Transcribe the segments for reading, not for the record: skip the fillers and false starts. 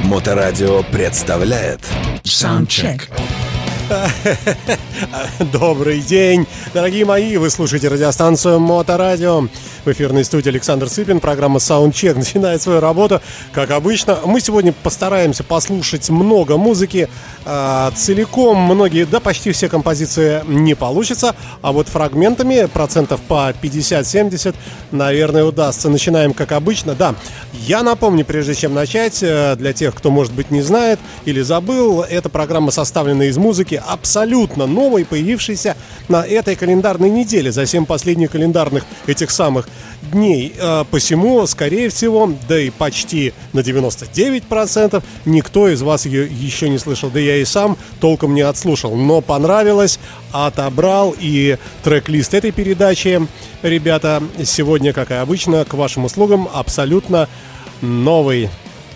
Моторадио представляет Soundcheck. Добрый день, дорогие мои, вы слушаете радиостанцию Моторадио. В эфирной студии Александр Цыпин, программа Soundcheck начинает свою работу. Как обычно, мы сегодня постараемся послушать много музыки целиком. Многие, да почти все композиции не получится, а вот фрагментами процентов по 50-70, наверное, удастся. Начинаем как обычно. Да, я напомню, прежде чем начать, для тех, кто, может быть, не знает или забыл, эта программа составлена из музыки абсолютно новой, появившейся на этой календарной неделе, за 7 последних календарных этих самых дней. Посему, скорее всего, да и почти на 99% никто из вас ее еще не слышал. Да я и сам толком не отслушал. Но понравилось, отобрал, и трек-лист этой передачи, ребята, сегодня, как и обычно, к вашим услугам абсолютно новый.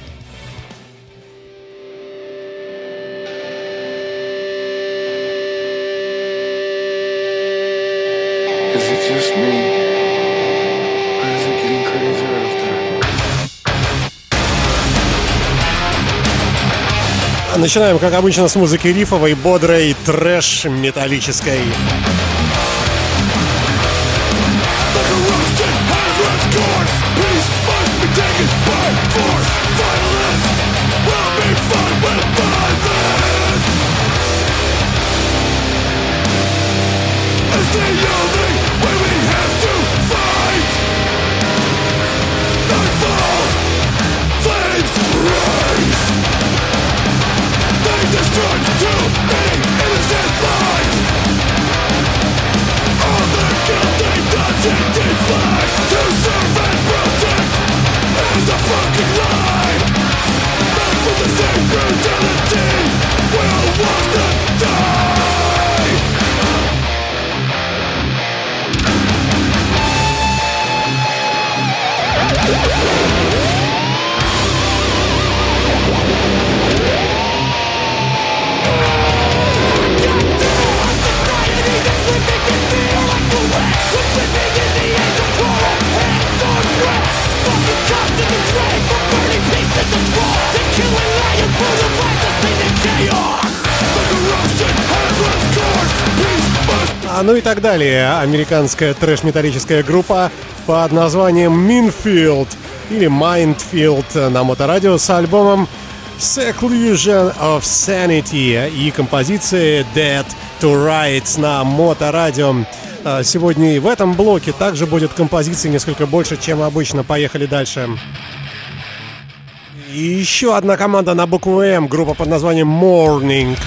Начинаем, как обычно, с музыки рифовой, бодрой, трэш-металлической. Ну и так далее. Американская трэш-металлическая группа под названием Minfield или Mindfield на Моторадио с альбомом Seclusion of Sanity и композицией Dead to Rights на Моторадио. Сегодня и в этом блоке также будет композиций несколько больше, чем обычно. Поехали дальше. И еще одна команда на букву М, группа под названием Morning.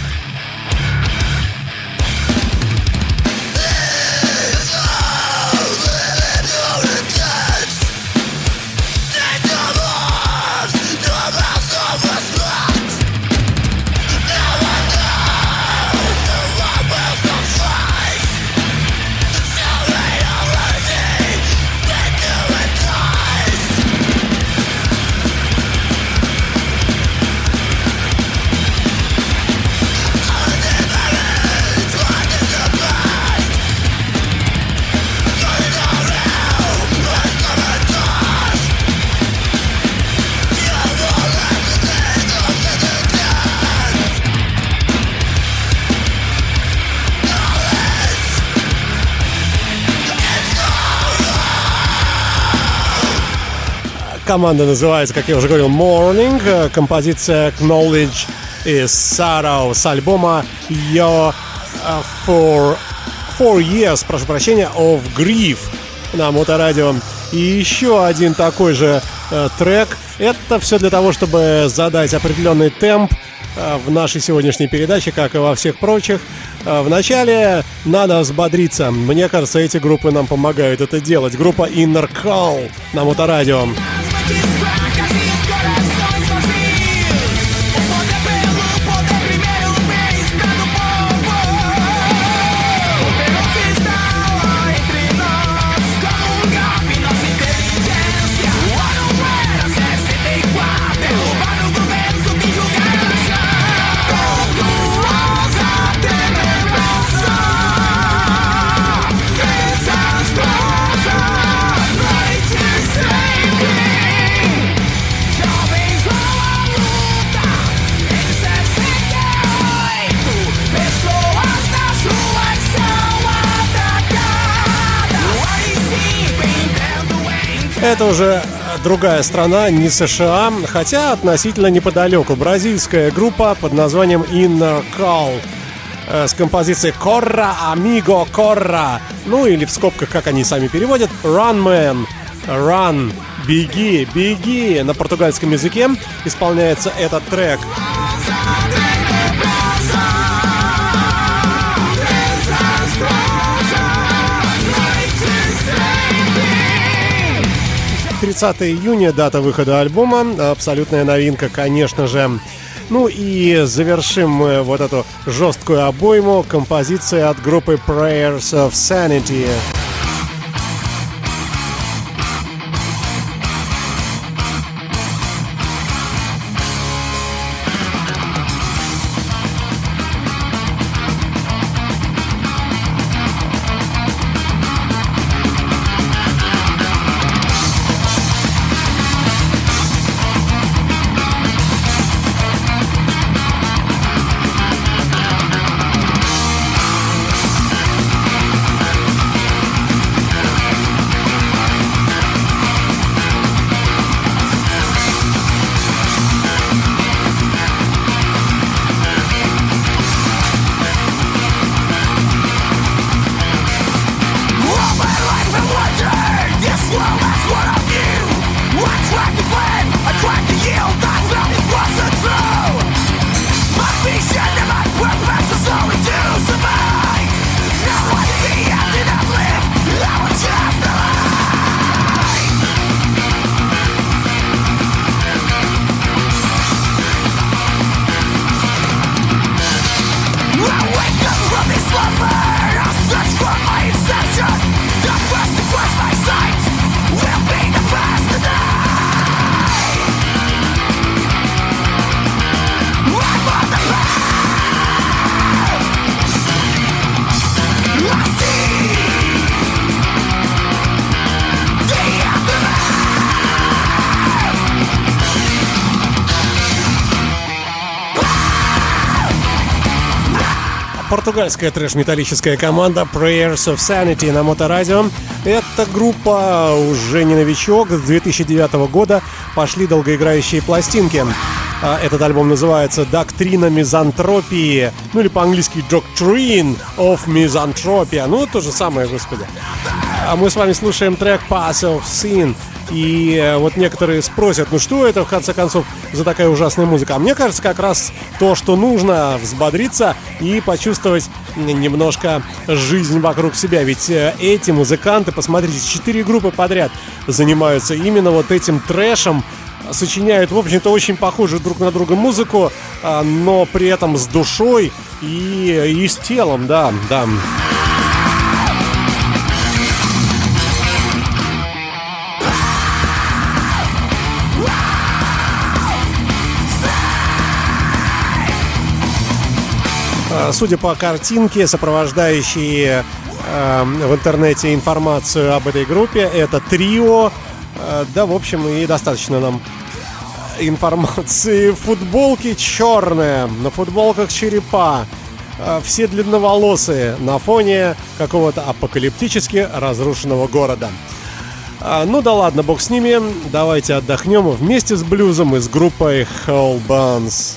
Команда называется, как я уже говорил, Morning. Композиция Knowledge is Sorrow с альбома Your Four Years, прошу прощения, of Grief на Моторадио. И еще один такой же трек. Это все для того, чтобы задать определенный темп в нашей сегодняшней передаче, как и во всех прочих. Вначале надо взбодриться. Мне кажется, эти группы нам помогают это делать. Группа Inner Call на Моторадио. Это уже другая страна, не США, хотя относительно неподалеку. Бразильская группа под названием Inner Call с композицией «Corra, amigo, corra». Ну или в скобках, как они сами переводят, «Run, man», «Run», «Беги», «Беги». На португальском языке исполняется этот трек. 30 июня, дата выхода альбома, абсолютная новинка, конечно же. Ну и завершим мы вот эту жесткую обойму композицией от группы Prayers of Sanity. Португальская трэш-металлическая команда Prayers of Sanity на Моторадио. Эта группа уже не новичок. С 2009 года пошли долгоиграющие пластинки. Этот альбом называется «Доктрина мизантропии», ну или по-английски «Doctrine of Misanthropia». Ну, то же самое, господи. А мы с вами слушаем трек «Pass of Sin». И вот некоторые спросят, ну что это, в конце концов, за такая ужасная музыка? А мне кажется, как раз то, что нужно, взбодриться и почувствовать немножко жизнь вокруг себя. Ведь эти музыканты, посмотрите, 4 группы подряд занимаются именно вот этим трэшем, сочиняют, в общем-то, очень похожую друг на друга музыку, но при этом с душой и с телом, да. Судя по картинке, сопровождающей в интернете информацию об этой группе, это трио. Да, в общем, и достаточно нам информации. Футболки черные, на футболках черепа. Все длинноволосые на фоне какого-то апокалиптически разрушенного города. Ну да ладно, бог с ними. Давайте отдохнем вместе с блюзом и с группой Whole Buns.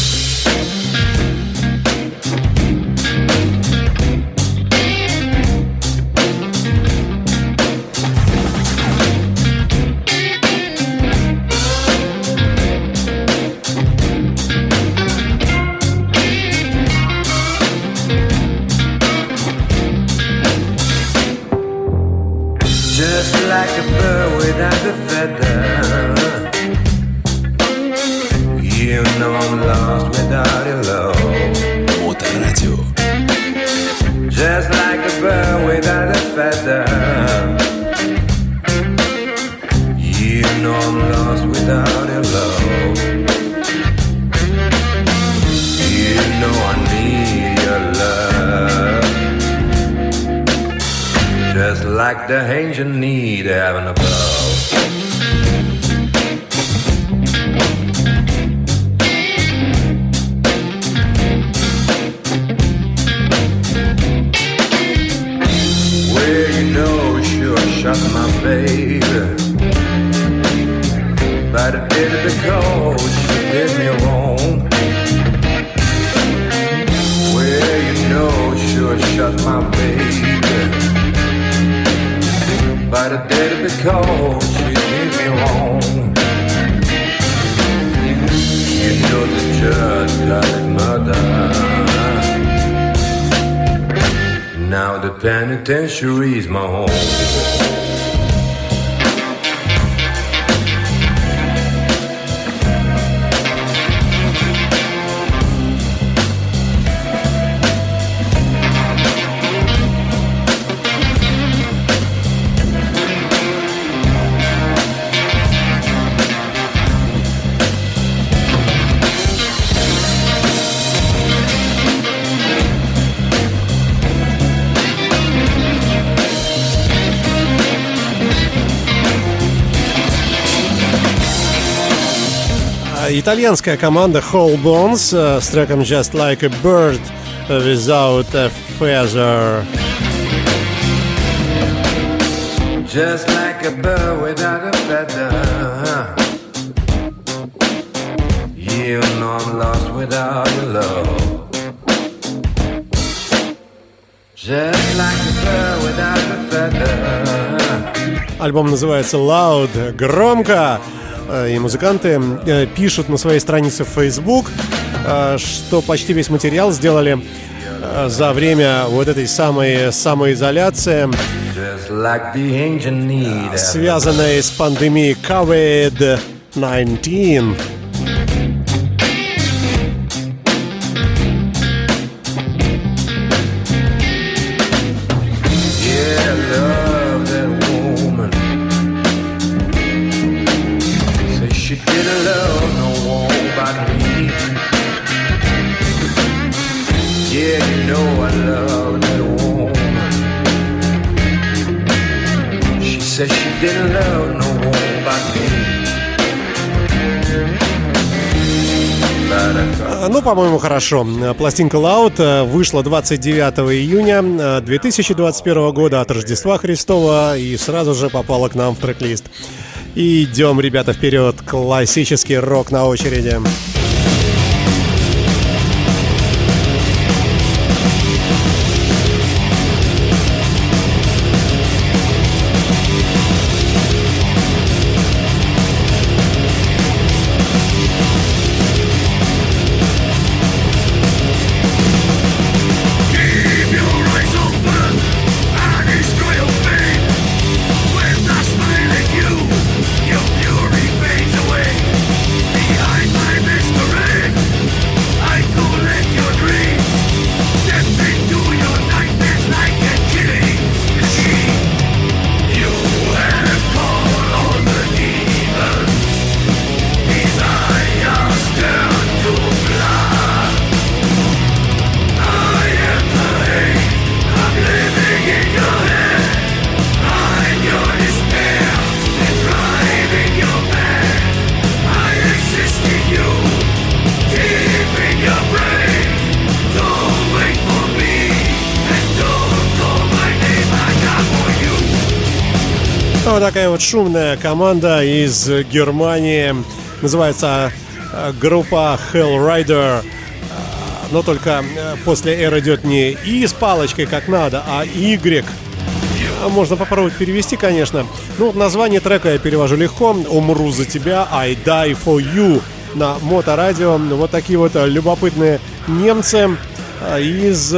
Like the angel need having a blow. Well, you know, sure shot my baby. But I did it because she did me wrong. Well, you know, sure shut my baby. But I did it because she did me wrong. You know the judge got it murder. Now the penitentiary's my home. Итальянская команда Whole Bones с треком Just Like a Bird Without a Feather. Just like a bird without a feather. You know I'm lost without your love. Just like a bird without a feather. Альбом называется Loud, громко. И музыканты пишут на своей странице в Facebook, что почти весь материал сделали за время вот этой самоизоляции, связанной с пандемией COVID-19. Said she didn't love no one but me. Ну, по-моему, хорошо. Пластинка Loud вышла 29 июня 2021 года от Рождества Христова и сразу же попала к нам в трек-лист. Идем, ребята, вперед. Классический рок на очереди. Вот такая вот шумная команда из Германии. Называется группа Hellrider. Но только после R идет не И с палочкой как надо, а Y. Можно попробовать перевести, конечно. Ну, название трека я перевожу легко. «Умру за тебя», «I die for you» на Моторадио. Вот такие вот любопытные немцы из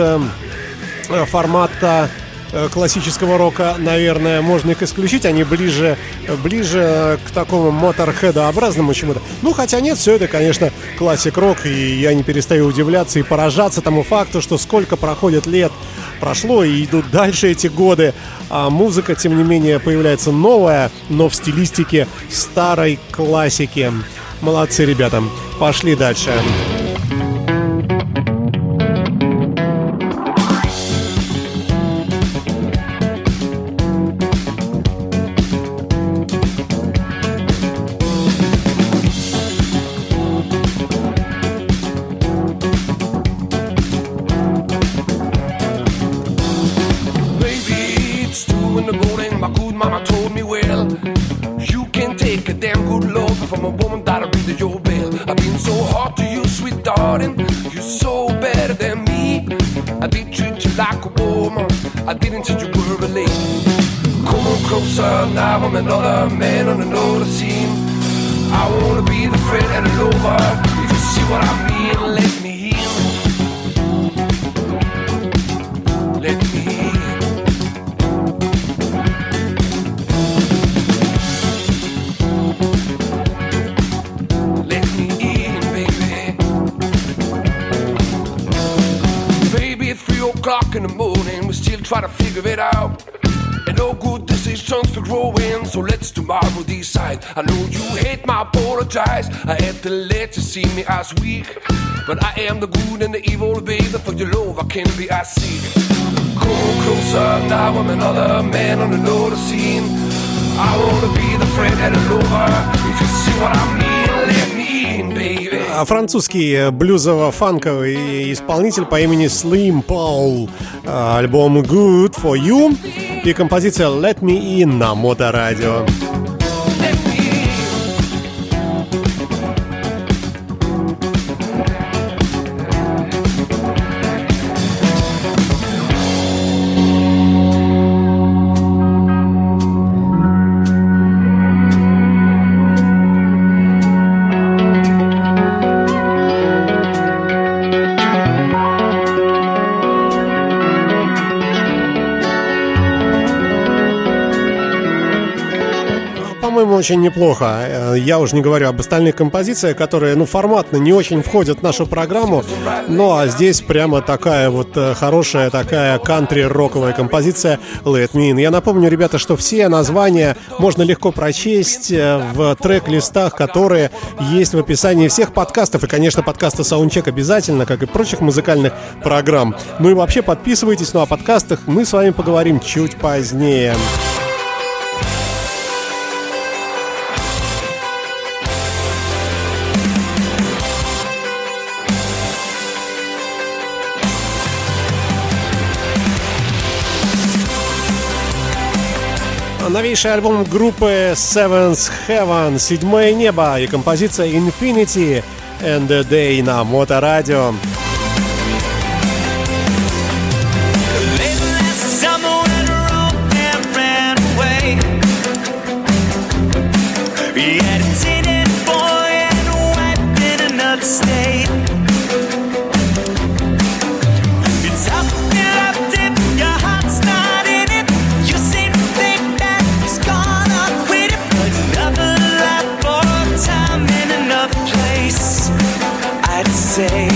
формата классического рока, наверное, можно их исключить. Они ближе к такому моторхедообразному чему-то. Ну, хотя нет, все это, конечно, классик-рок. И я не перестаю удивляться и поражаться тому факту, что сколько проходит лет прошло и идут дальше эти годы. А музыка, тем не менее, появляется новая, но в стилистике старой классики. Молодцы, ребята. Пошли дальше. Mama told me, well, you can take a damn good look from a woman that'll be your bill. I've been so hard to you, sweet darling. You're so better than me. I did treat you like a woman. I didn't treat you were a lady. Come on closer, now I'm another man on another scene. I wanna be the friend and the lover. If you see what I mean, let me in. Let me in. Let me in, baby. Baby, at 3 o'clock in the morning, we still try to figure it out. And no good decisions for growing, so let's tomorrow decide. I know you hate my apologize. I had to let you see me as weak, but I am the good and the evil, baby. For your love I can be as sick. Come closer, now I'm another man on another scene. I wanna be the friend and the lover. If you see what I mean, let me in, baby. Французский блюзово-фанковый исполнитель по имени Slim Paul. Альбом Good For You и композиция Let Me In на Моторадио. Очень неплохо. Я уже не говорю об остальных композициях, которые, форматно не очень входят в нашу программу. Ну, а здесь прямо такая вот хорошая, такая кантри-роковая композиция Let Me In. Я напомню, ребята, что все названия можно легко прочесть в трек-листах, которые есть в описании всех подкастов. И, конечно, подкаста Soundcheck обязательно, как и прочих музыкальных программ. Ну и вообще подписывайтесь. Ну, о подкастах мы с вами поговорим чуть позднее. Новейший альбом группы Seventh Heaven, «Седьмое небо» и композиция Infinity and the Day на Моторадио. Say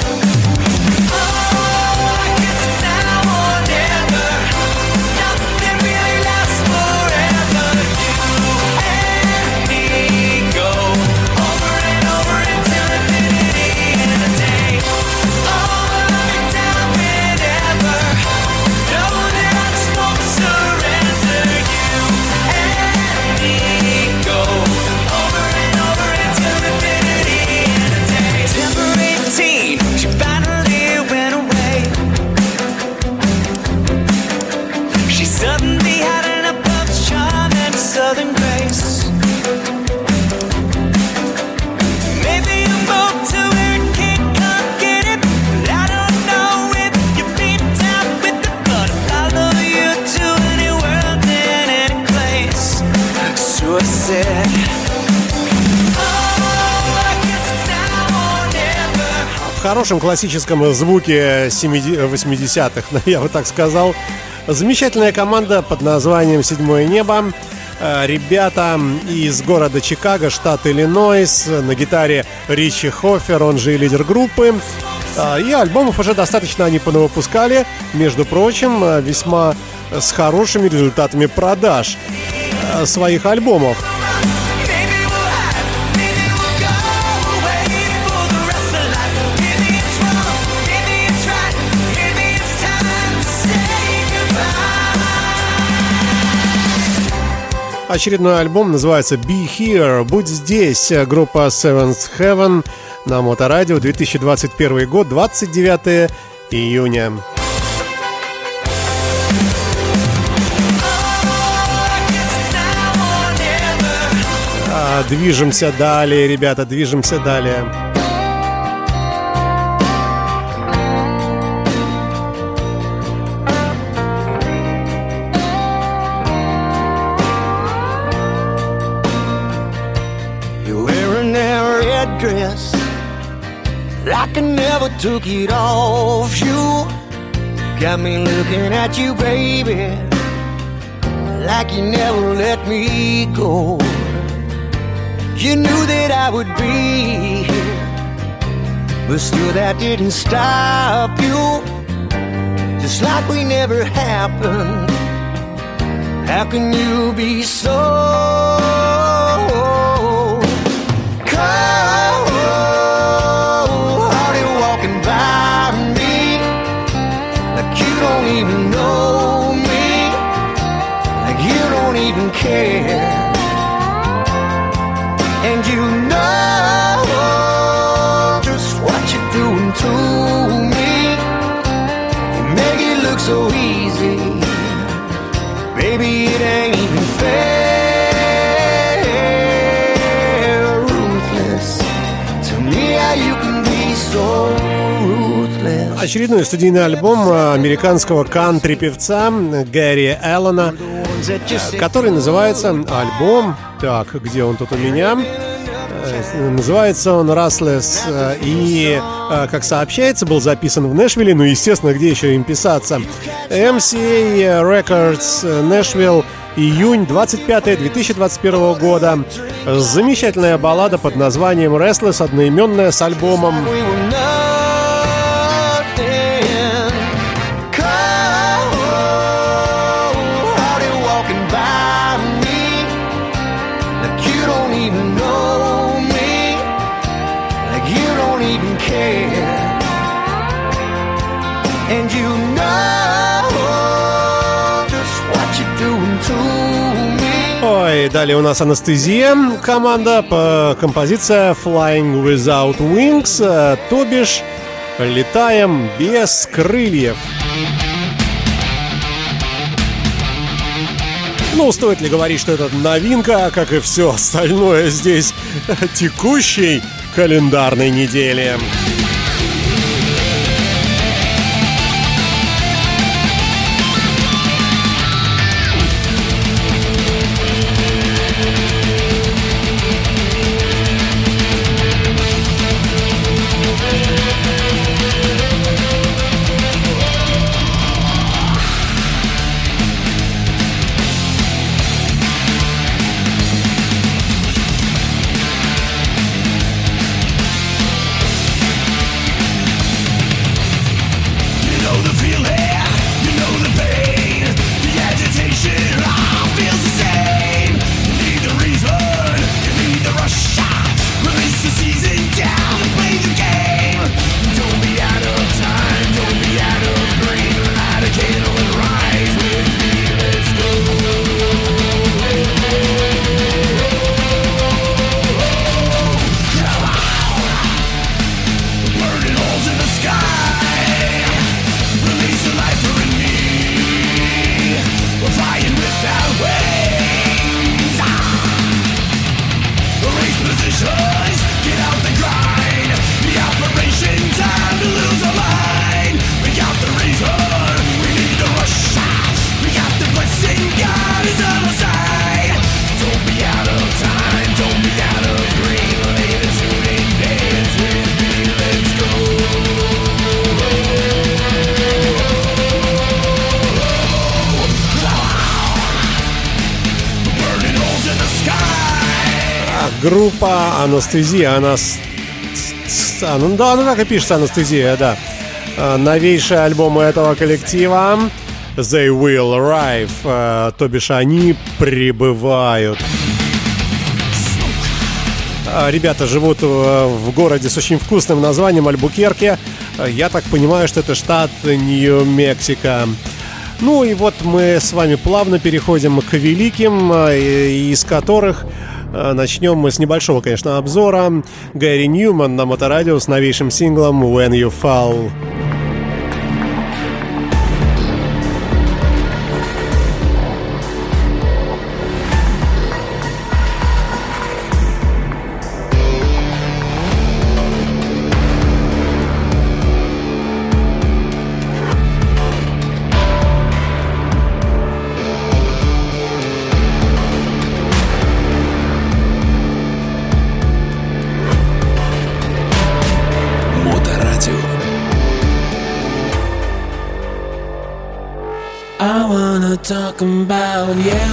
В хорошем классическом звуке 80-х, я бы так сказал. Замечательная команда под названием «Седьмое небо». Ребята из города Чикаго, штат Иллинойс. На гитаре Ричи Хоффер, он же и лидер группы. И альбомов уже достаточно они понавыпускали. Между прочим, весьма с хорошими результатами продаж своих альбомов. Очередной альбом называется Be Here, будь здесь. Группа Seventh Heaven на Моторадио, 2021 год, 29 июня. Движемся далее, ребята, движемся далее. Dress like I never took it off you. Got me looking at you, baby, like you never let me go. You knew that I would be here, but still that didn't stop you. Just like we never happened. How can you be so don't even know me, like you don't even care. And you know just what you're doing to me. You make it look so easy, baby, it ain't even fair. Ruthless, tell me how you can be so ruthless. Очередной студийный альбом американского кантри-певца Гэри Эллена, который называется альбом... Так, где он тут у меня? Называется он «Restless». И, как сообщается, был записан в Нэшвилле. Ну, естественно, где еще им писаться? MCA Records, Нэшвилл, июнь 25 2021 года. Замечательная баллада под названием «Restless», одноименная с альбомом. And you know just what you're doing to me. Ой, далее у нас «Анестезия», команда, по композиция «Flying Without Wings», то бишь «Летаем без крыльев». Ну, стоит ли говорить, что это новинка, как и все остальное здесь текущей календарной недели. Группа «Анестезия», она так и пишется «Анестезия», да. Новейшие альбомы этого коллектива «They Will Arrive», то бишь они прибывают. Ребята живут в городе с очень вкусным названием Альбукерке. Я так понимаю, что это штат Нью-Мексико. Ну и вот мы с вами плавно переходим к великим, из которых... Начнем мы с небольшого, конечно, обзора. Гэри Ньюман на Моторадио с новейшим синглом «When You Fall». I wanna talk about you.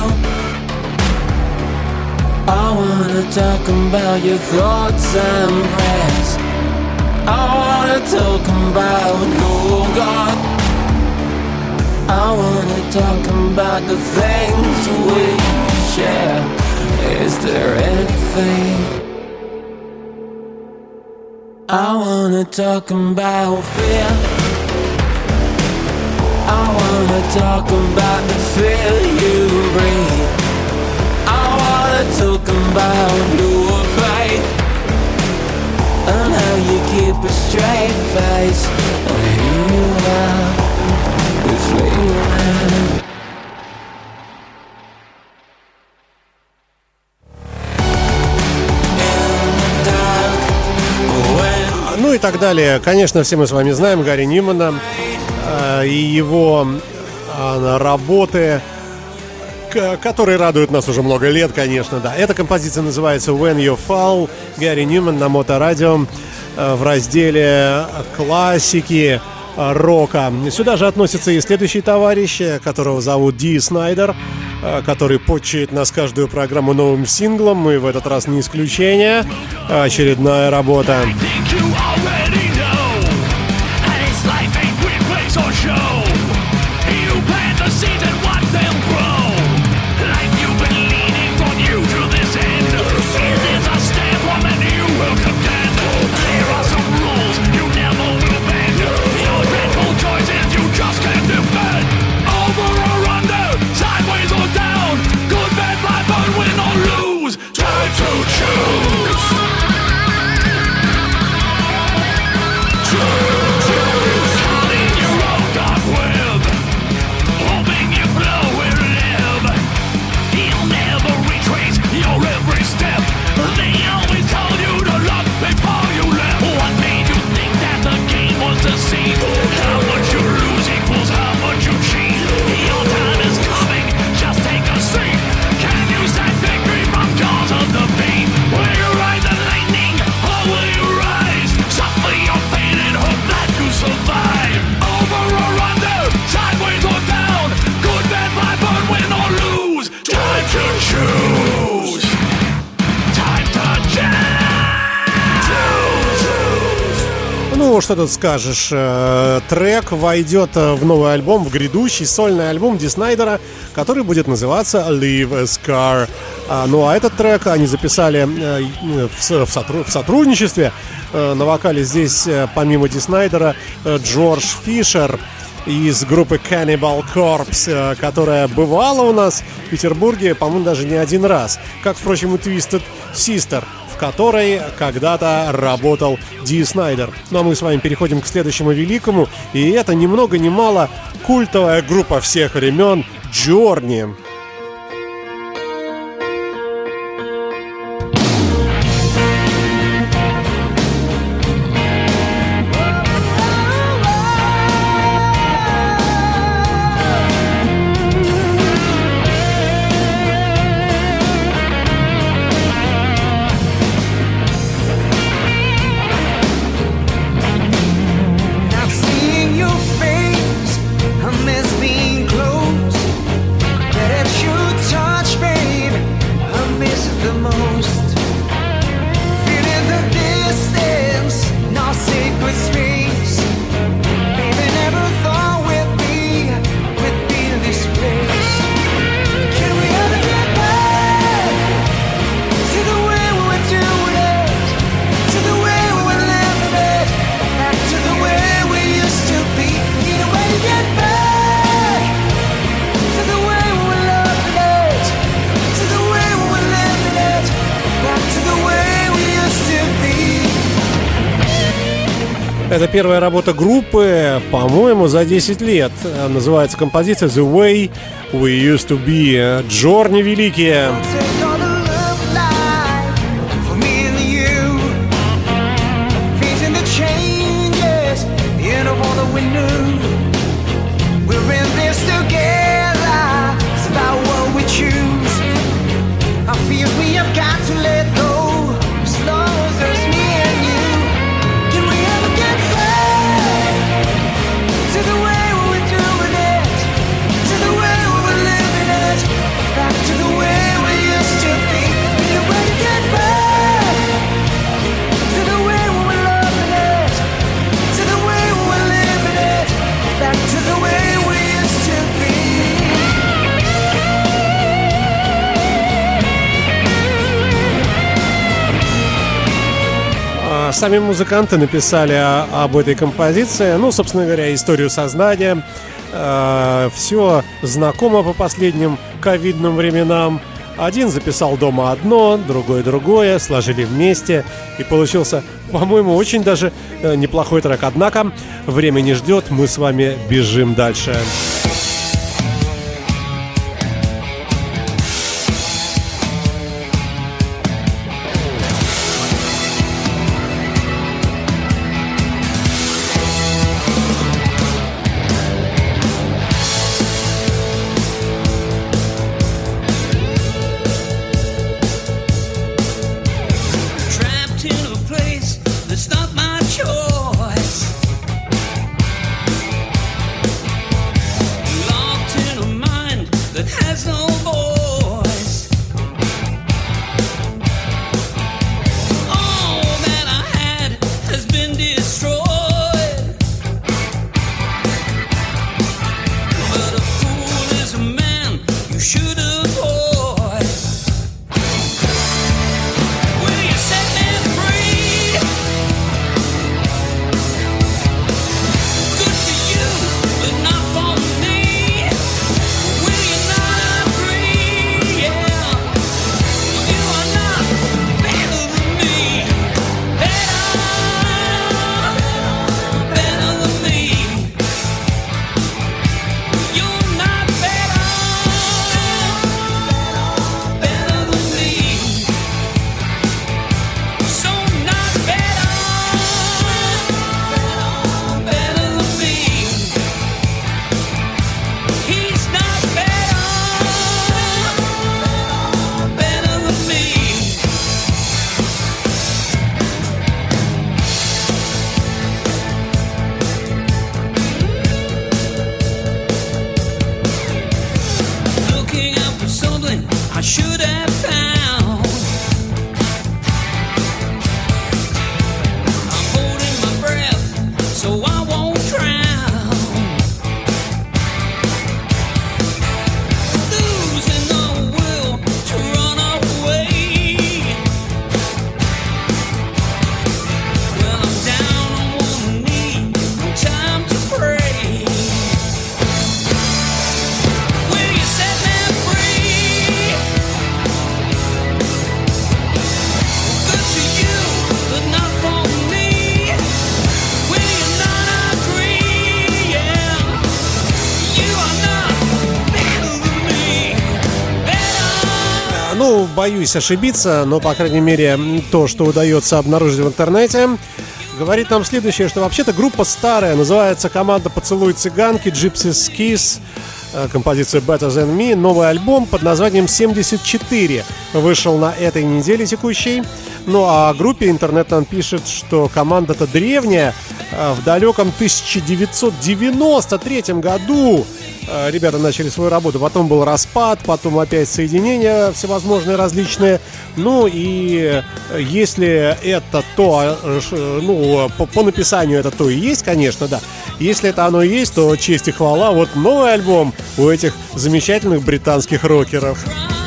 I wanna talk about your thoughts and prayers. I wanna talk about, oh God. I wanna talk about the things we share. Is there anything? I wanna talk about fear. I wanna talk about the fear you breathe. I wanna talk about your faith and how you keep a straight face when you are with me. Ну и так далее. Конечно, все мы с вами знаем Гарри Ньюмана и его работы, которые радуют нас уже много лет, конечно, да. Эта композиция называется When You Fall, Гарри Ньюман на Моторадио в разделе классики рока. Сюда же относится и следующий товарищ, которого зовут Ди Снайдер, который почует нас каждую программу новым синглом, и в этот раз не исключение. Очередная работа. Ну, что тут скажешь, трек войдет в новый альбом, в грядущий сольный альбом Ди Снайдера, который будет называться Leave a Scar. Ну, а этот трек они записали в сотрудничестве. На вокале здесь, помимо Ди Снайдера, Джордж Фишер из группы Cannibal Corpse, которая бывала у нас в Петербурге, по-моему, даже не один раз. Как, впрочем, и Twisted Sister, в которой когда-то работал Ди Снайдер. Ну а мы с вами переходим к следующему великому. И это ни много ни мало культовая группа всех времен Journey. Это первая работа группы, по-моему, за 10 лет. Называется композиция The Way We Used To Be. Journey великие. To the way we were doing it, to the Сами музыканты написали об этой композиции, ну, собственно говоря, историю создания. Все знакомо по последним ковидным временам. Один записал дома одно, другой другое, сложили вместе, и получился, по-моему, очень даже неплохой трек. Однако время не ждет, мы с вами бежим дальше. Боюсь ошибиться, но, по крайней мере, то, что удается обнаружить в интернете, говорит нам следующее, что вообще-то группа старая, называется команда «Поцелуй цыганки», Gypsy's Kiss, композиция Better Than Me. Новый альбом под названием 74 вышел на этой неделе текущей. Ну а о группе интернет нам пишет, что команда-то древняя. В далеком 1993 году ребята начали свою работу. Потом был распад, потом опять соединения всевозможные различные. Ну и если это то, ну, по написанию это то и есть, конечно, да. Если это оно и есть, то честь и хвала. Вот новый альбом у этих замечательных британских рокеров.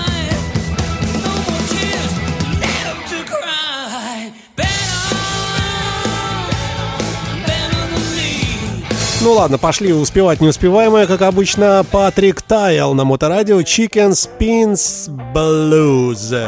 Ну ладно, пошли успевать неуспеваемое, как обычно. Патрик Тайл на Моторадио, Chicken Spins Blues.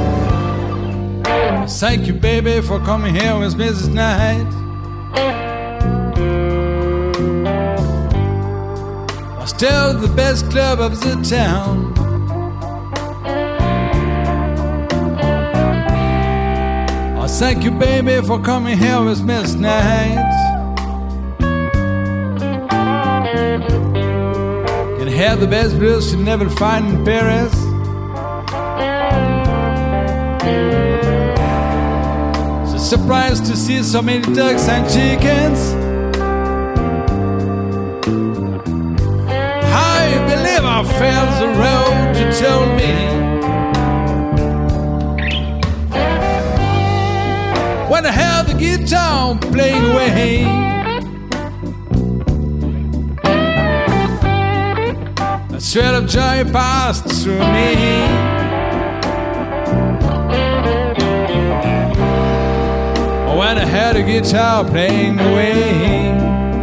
Thank you, baby, for coming here with me this night. Still the best club of the town. I thank you, baby, for coming here with me tonight. Can have the best blues you never find in Paris. So surprised to see so many ducks and chickens. I felt the road you told me. When I held the guitar playing away, a thread of joy passed through me. When I had a guitar playing away,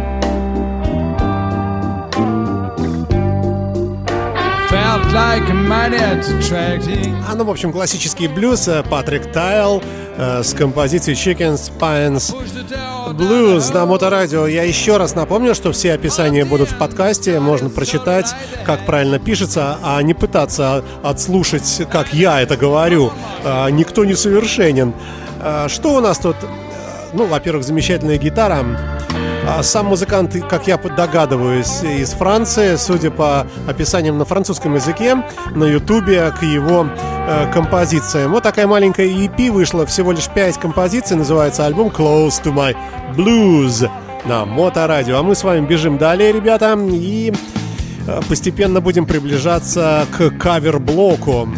ну, в общем, классический блюз. Патрик Тайл с композицией Chickens, Pines, Blues на Моторадио. Я еще раз напомню, что все описания будут в подкасте. Можно прочитать, как правильно пишется, а не пытаться отслушать, как я это говорю. Никто не совершенен. Что у нас тут? Ну, во-первых, замечательная гитара. Сам музыкант, как я догадываюсь, из Франции. Судя по описаниям на французском языке, на ютубе к его композициям. Вот такая маленькая EP вышла, всего лишь 5 композиций. Называется альбом Close to My Blues на Моторадио. А мы с вами бежим далее, ребята, и постепенно будем приближаться к кавер-блоку.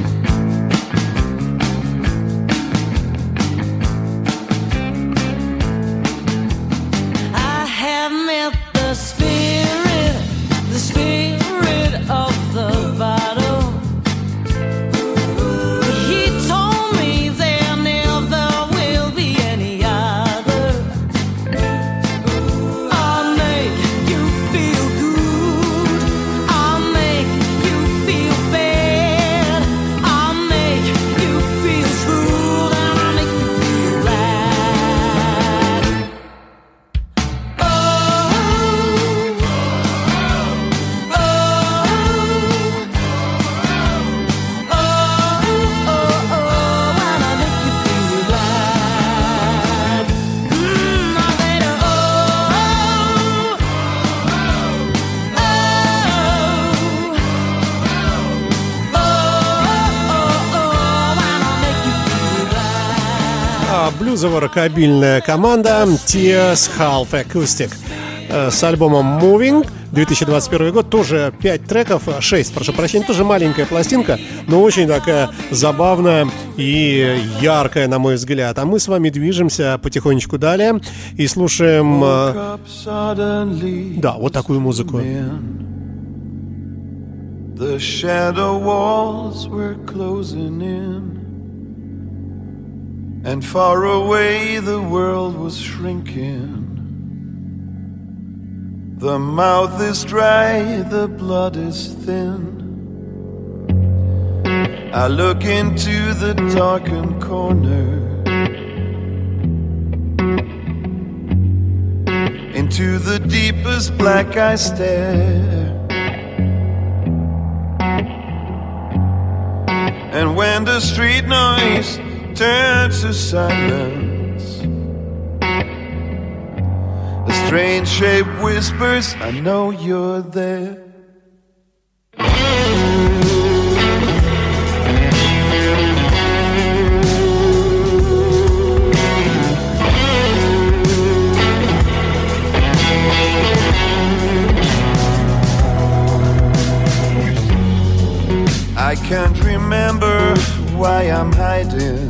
Блюзово-рокобильная команда Tears Half Acoustic с альбомом Moving, 2021 год, тоже 5 треков, 6, прошу прощения, тоже маленькая пластинка, но очень такая забавная и яркая, на мой взгляд. А мы с вами движемся потихонечку далее и слушаем, да, вот такую музыку. The shadow walls were closing in, and far away the world was shrinking. The mouth is dry, the blood is thin. I look into the darkened corner, into the deepest black I stare. And when the street noise turns to silence, a strange shape whispers, I know you're there. I can't remember why I'm hiding,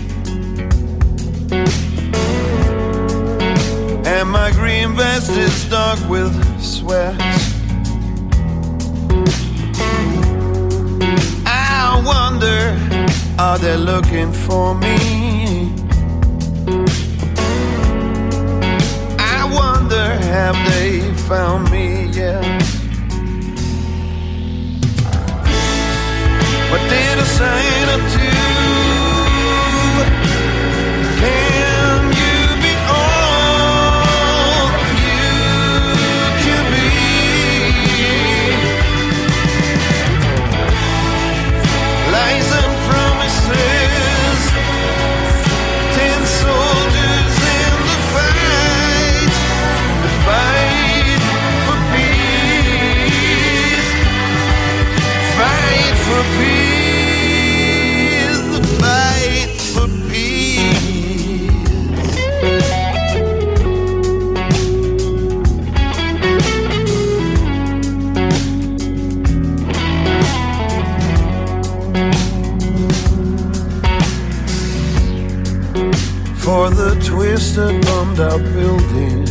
and my green vest is dark with sweat. I wonder, are they looking for me? I wonder, have they found me yet? What did I sign up to? Can you be all you can be? that bombed our buildings.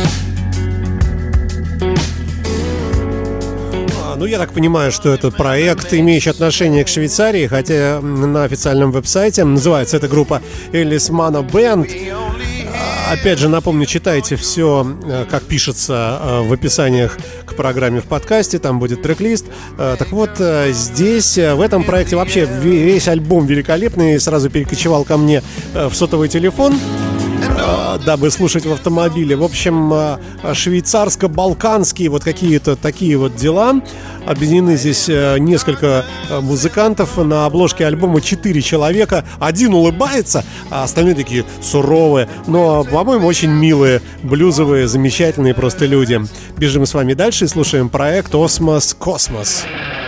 Ну, я так понимаю, что это проект, имеющий отношение к Швейцарии, хотя на официальном веб-сайте называется эта группа Элис Мана Бэнд. Опять же, напомню, читайте все, как пишется в описаниях к программе в подкасте, там будет трек-лист. Так вот, здесь, в этом проекте вообще весь альбом великолепный, сразу перекочевал ко мне в сотовый телефон, дабы слушать в автомобиле. В общем, швейцарско-балканские вот какие-то такие вот дела. Объединены здесь несколько музыкантов. На обложке альбома 4 человека. Один улыбается, а остальные такие суровые, но, по-моему, очень милые, блюзовые, замечательные просто люди. Бежим с вами дальше и слушаем проект Osmos Cosmos.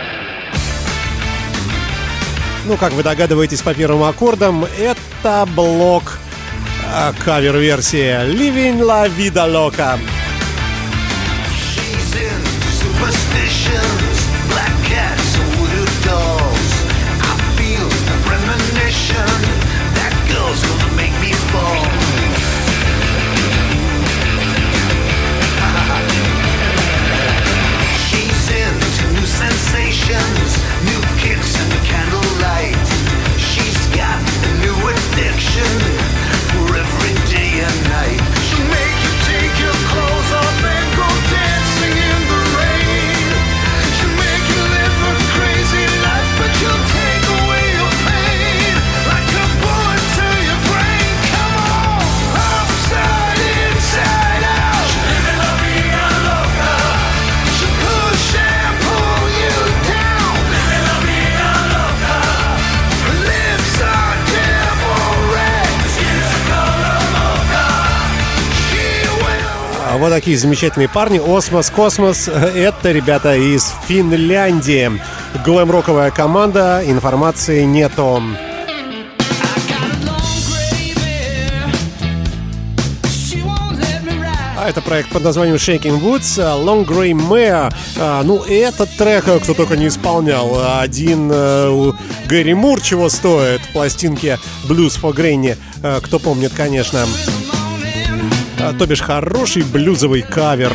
Ну, как вы догадываетесь по первым аккордам, это блок кавер-версия Living La Vida Loca. New kicks in the candlelight. She's got a new addiction for every day and night. She'll make you take your clothes off and go dancing in the rain. She'll make you live a crazy life, but she'll take away your pain like a bullet to your brain. Come on, upside, inside out. She'll live in la vida loca. She'll push and pull you down. Live in la vida loca. Her lips are devil red. Skin's the color mocha. She will. Вот такие замечательные парни. Osmos Cosmos. Это ребята из Финляндии. Глэм-роковая команда. Информации нету. А это проект под названием Shaking Woods, Long Grey Mare. Ну, этот трек кто только не исполнял. Один Гэри Мур чего стоит. Пластинки Blues for Granny. Кто помнит, конечно. То бишь хороший блюзовый кавер.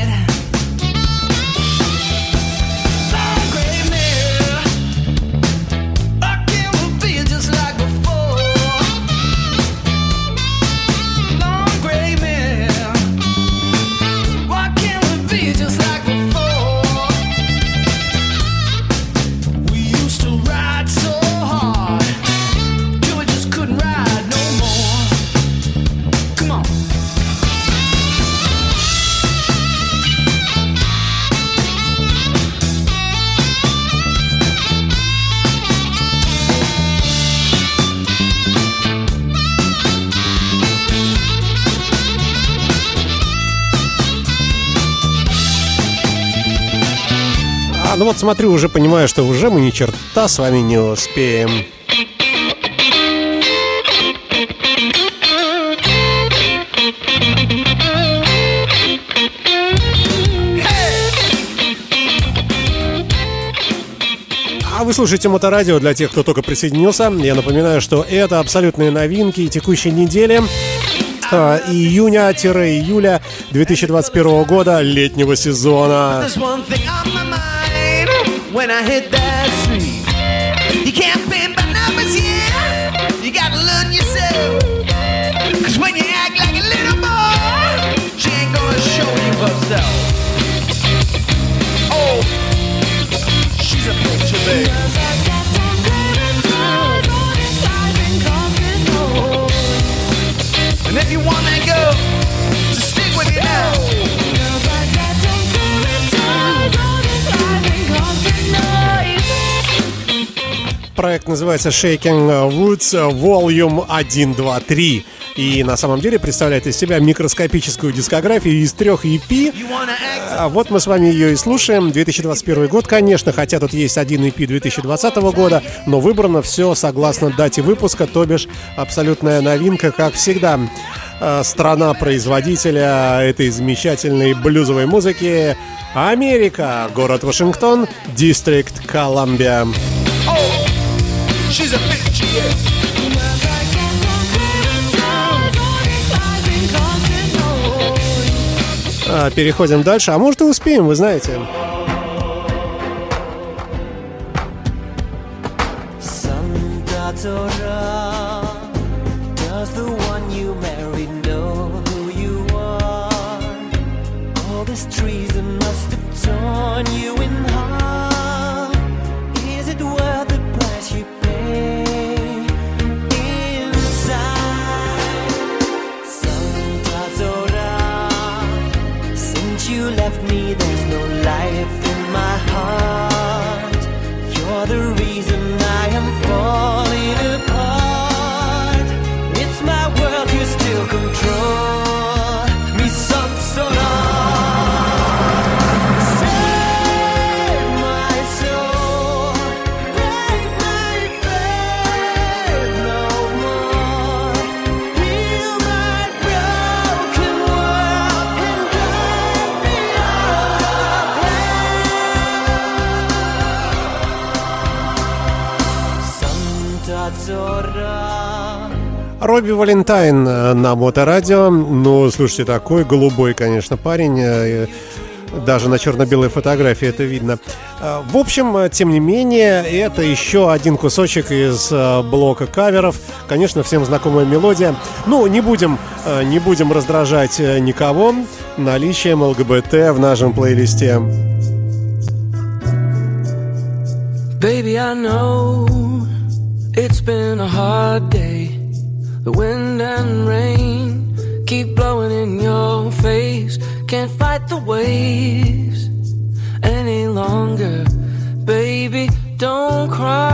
Ну вот смотрю, уже понимаю, что уже мы ни черта с вами не успеем. А вы слушаете Моторадио для тех, кто только присоединился. Я напоминаю, что это абсолютные новинки текущей недели. Июня-июля 2021 года, летнего сезона. When I hit that street, you can't bend by numbers, yeah. You gotta learn yourself. Cause when you act like a little boy, she ain't gonna show you herself. Oh, she's a picture, baby. And if you want that girl, just stick with you now. Проект называется Shaking Woods Volume 1, 2, 3. И на самом деле представляет из себя микроскопическую дискографию из 3 EP. Вот мы с вами ее и слушаем. 2021 год, конечно, хотя тут есть один EP 2020 года, но выбрано все согласно дате выпуска, то бишь абсолютная новинка, как всегда. Страна производителя этой замечательной блюзовой музыки — Америка, город Вашингтон, Дистрикт Колумбия. She's a bitch, yeah. переходим дальше. А может и успеем, вы знаете. Does the one you married know who you are? All this treason must have torn you in half. Is it worth the price you pay inside? Santa Zora, since you left me, there's no life in my heart. You're the reason I am falling apart. It's my world you still control. Me some sort of save my soul, break my faith no more, heal my broken world and guide me out of hell. Santa Zora. Робби Валентайн на Моторадио. Ну, слушайте, такой голубой, конечно, парень. Даже на черно-белой фотографии это видно. В общем, тем не менее, это еще один кусочек из блока каверов. Конечно, всем знакомая мелодия. Ну, не будем раздражать никого наличием ЛГБТ в нашем плейлисте. Baby, I know it's been a hard day. The wind and rain keep blowing in your face. Can't fight the waves any longer. Baby, don't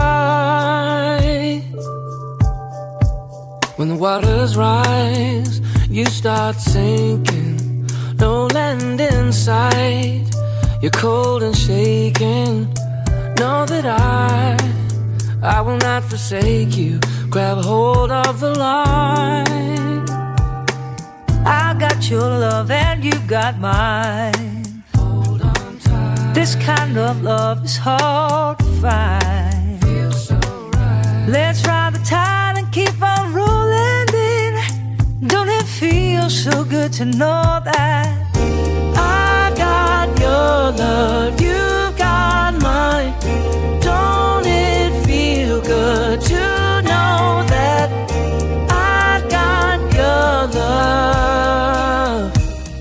cry. When the waters rise, you start sinking. No land in sight. You're cold and shaking. Know that I will not forsake you. Grab a hold of the line. I got your love and you got mine. Hold on tight. This kind of love is hard to find. Feels so right. Let's ride the tide and keep on rolling in. Don't it feel so good to know that I got your love, you've got mine. Don't it feel good to know that I've got your love?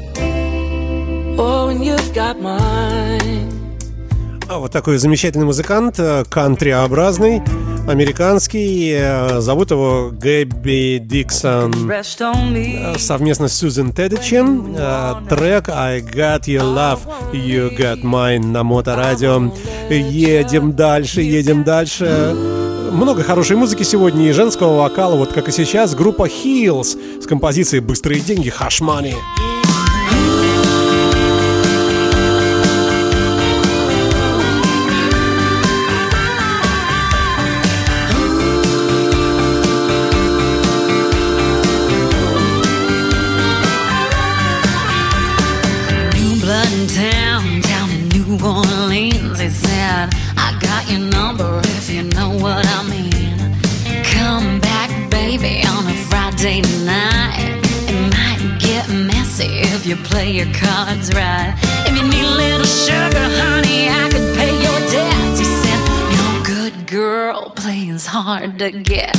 Oh, and you've got mine. А вот такой замечательный музыкант, кантриобразный, американский. Зовут его Гэбби Диксон. Совместно с Сьюзен Тедичем. Трек I Got Your Love, You Got Mine на Моторадио. Едем дальше. Много хорошей музыки сегодня и женского вокала, вот как и сейчас, группа Heels с композицией «Быстрые деньги» Hush Money. New blood in town, down in New Orleans. He said, I got your number if you know what I mean. Come back, baby, on a Friday night. It might get messy if you play your cards right. If you need a little sugar, honey, I could pay your debts. He said, no good girl plays hard to get.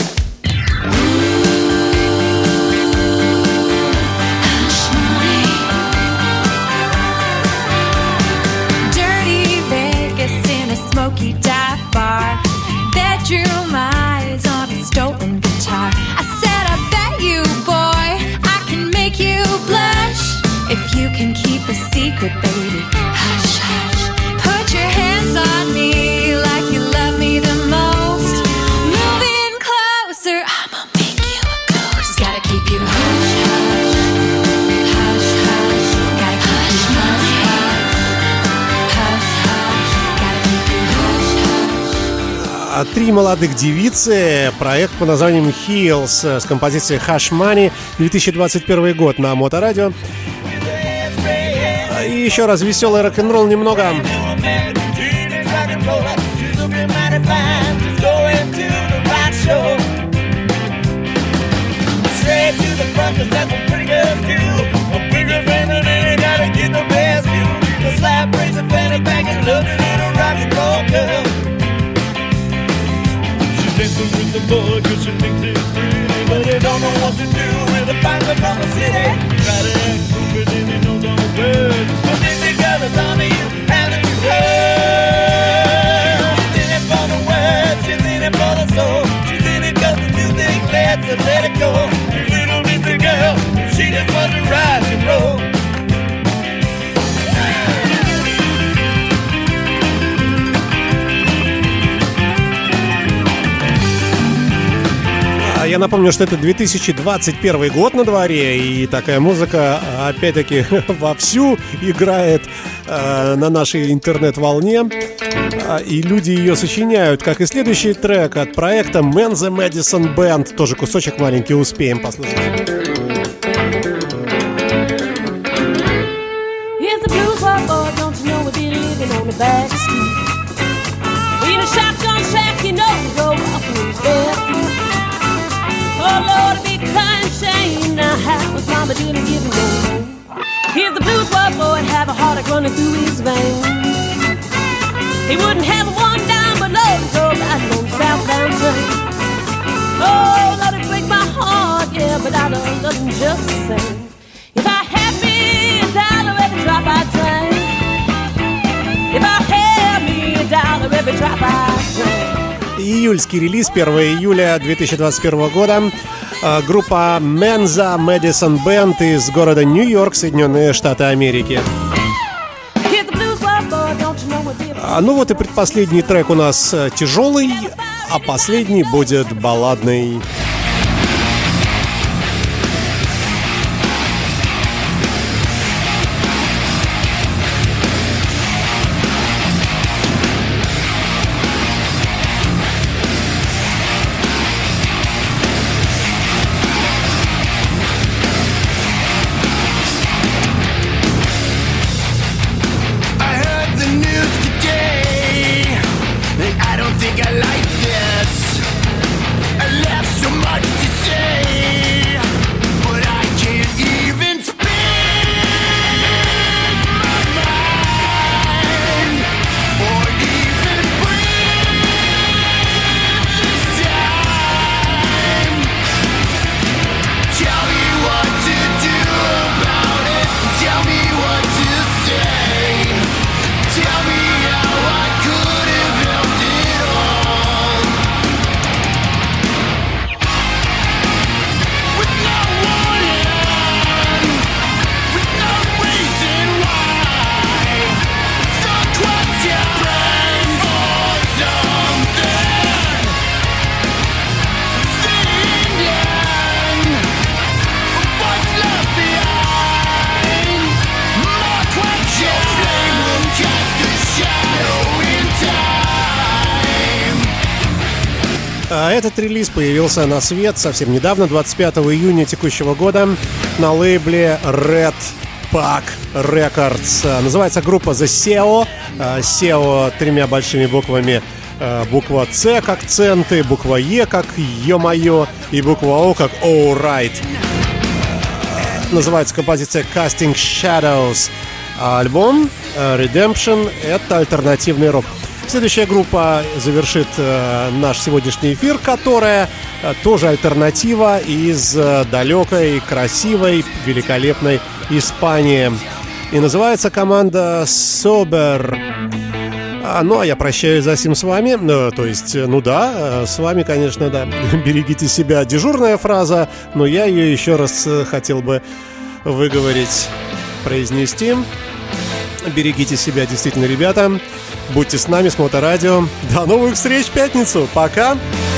Hush money. Dirty Vegas in a smoky dive bar. Bedroom eyes on a stolen guitar. I said, I bet you, boy, I can make you blush. If you can keep a secret, baby, hush, hush. Put your hands on me like you love me the most. Move in closer, I'ma make you a ghost. Gotta keep you hush, hush, hush, hush. Gotta keep you hush, hush, hush, hush. Gotta keep you hush, hush. Три молодых девицы, проект под названием Heels с композицией Hush Money, 2021 год на Моторадио. И еще раз веселый рок-н-ролл немного. Straight to the front, 'cause that's what pretty girls do. A bigger family, they gotta get no city. Try to act stupid and you know the words. But this girl is on you, haven't you heard? She's in it for the words, she's in it for the soul. She's in it 'cause the music glad to let it go. This little busy girl, she just wants to rock and roll. Я напомню, что это 2021 год на дворе, и такая музыка, опять-таки, вовсю играет на нашей интернет-волне, и люди ее сочиняют, как и следующий трек от проекта Man the Madison Band. Тоже кусочек маленький успеем послушать. Oh Lord, a big crying shame. Now how was Mama didn't give him no more. Here's the blues boy, have a heartache running through his veins. He wouldn't have one dime but Lord, he's all riding on the southbound train. Oh, Lord, it break my heart, yeah, but I don't love him just the same. If I had me a dollar every drop I train. If I had me a dollar every drop I train. Июльский релиз, 1 июля 2021 года. Группа Man the Madison Band из города Нью-Йорк, Соединенные Штаты Америки. Ну вот и предпоследний трек у нас тяжелый, а последний будет балладный. Этот релиз появился на свет совсем недавно, 25 июня текущего года, на лейбле Red Pack Records. Называется группа The SEO. SEO тремя большими буквами. Буква С как центы, буква Е как ё-моё и буква О как alright. Называется композиция Casting Shadows. Альбом Redemption — это альтернативный рок. Следующая группа завершит наш сегодняшний эфир, которая тоже альтернатива из далекой, красивой, великолепной Испании. И называется команда Sober. Ну, а я прощаюсь за сим с вами. То есть, ну да, с вами, конечно, да. Берегите себя. Дежурная фраза, но я ее еще раз хотел бы выговорить, произнести. Берегите себя, действительно, ребята. Будьте с нами, с Моторадио. До новых встреч в пятницу. Пока!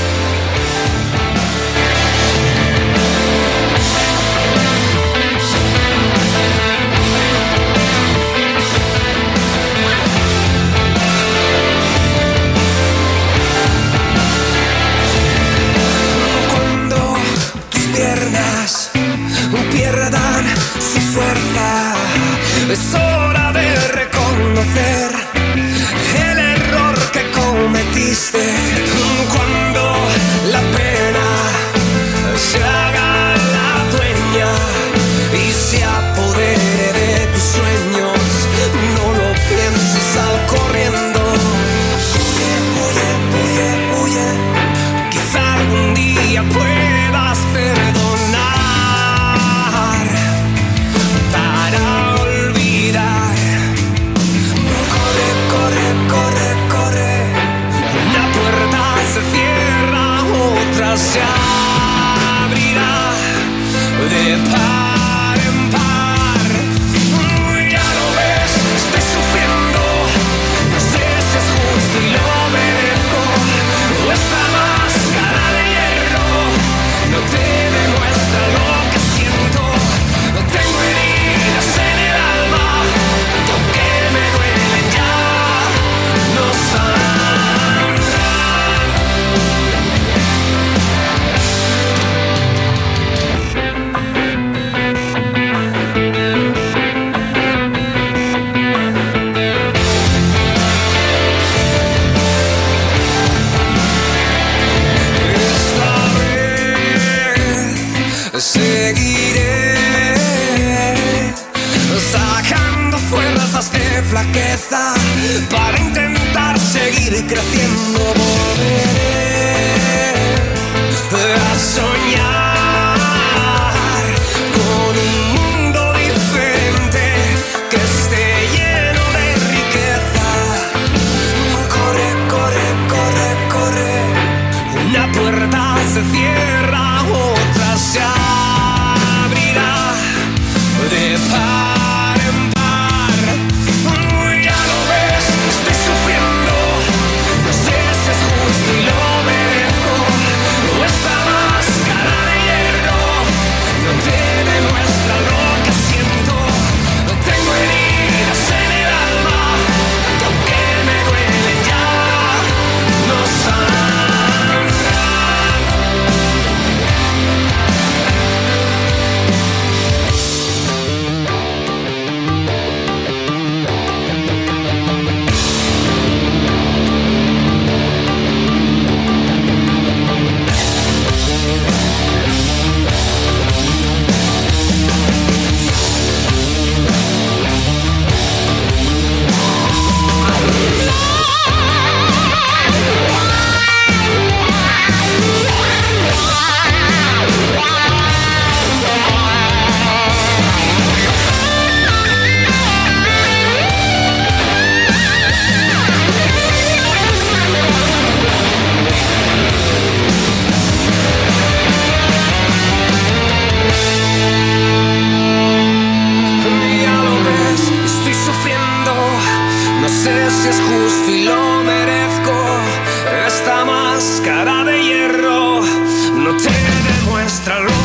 Es hora de reconocer el error que cometiste. Cuando la pena se haga la dueña y se apodere de tus sueños, no lo pienses, sal corriendo. Huye, huye, huye, huye. Quizá algún día puedas perdonar. flaqueza para intentar seguir creciendo. Volveré a soñar con un mundo diferente que esté lleno de riqueza. Corre, corre, corre, corre. Una puerta se cierra, otra se abrirá de par en par. Ya lo ves, estoy sufriendo. No sé si es justo y lo merezco. Esta máscara de hierro no te demuestra lo que siento. Tengo heridas en el alma que aunque me duelen ya no sanarán. Ya lo ves, estoy sufriendo. No sé si es justo y lo merezco. Esta máscara de hierro no te demuestra lo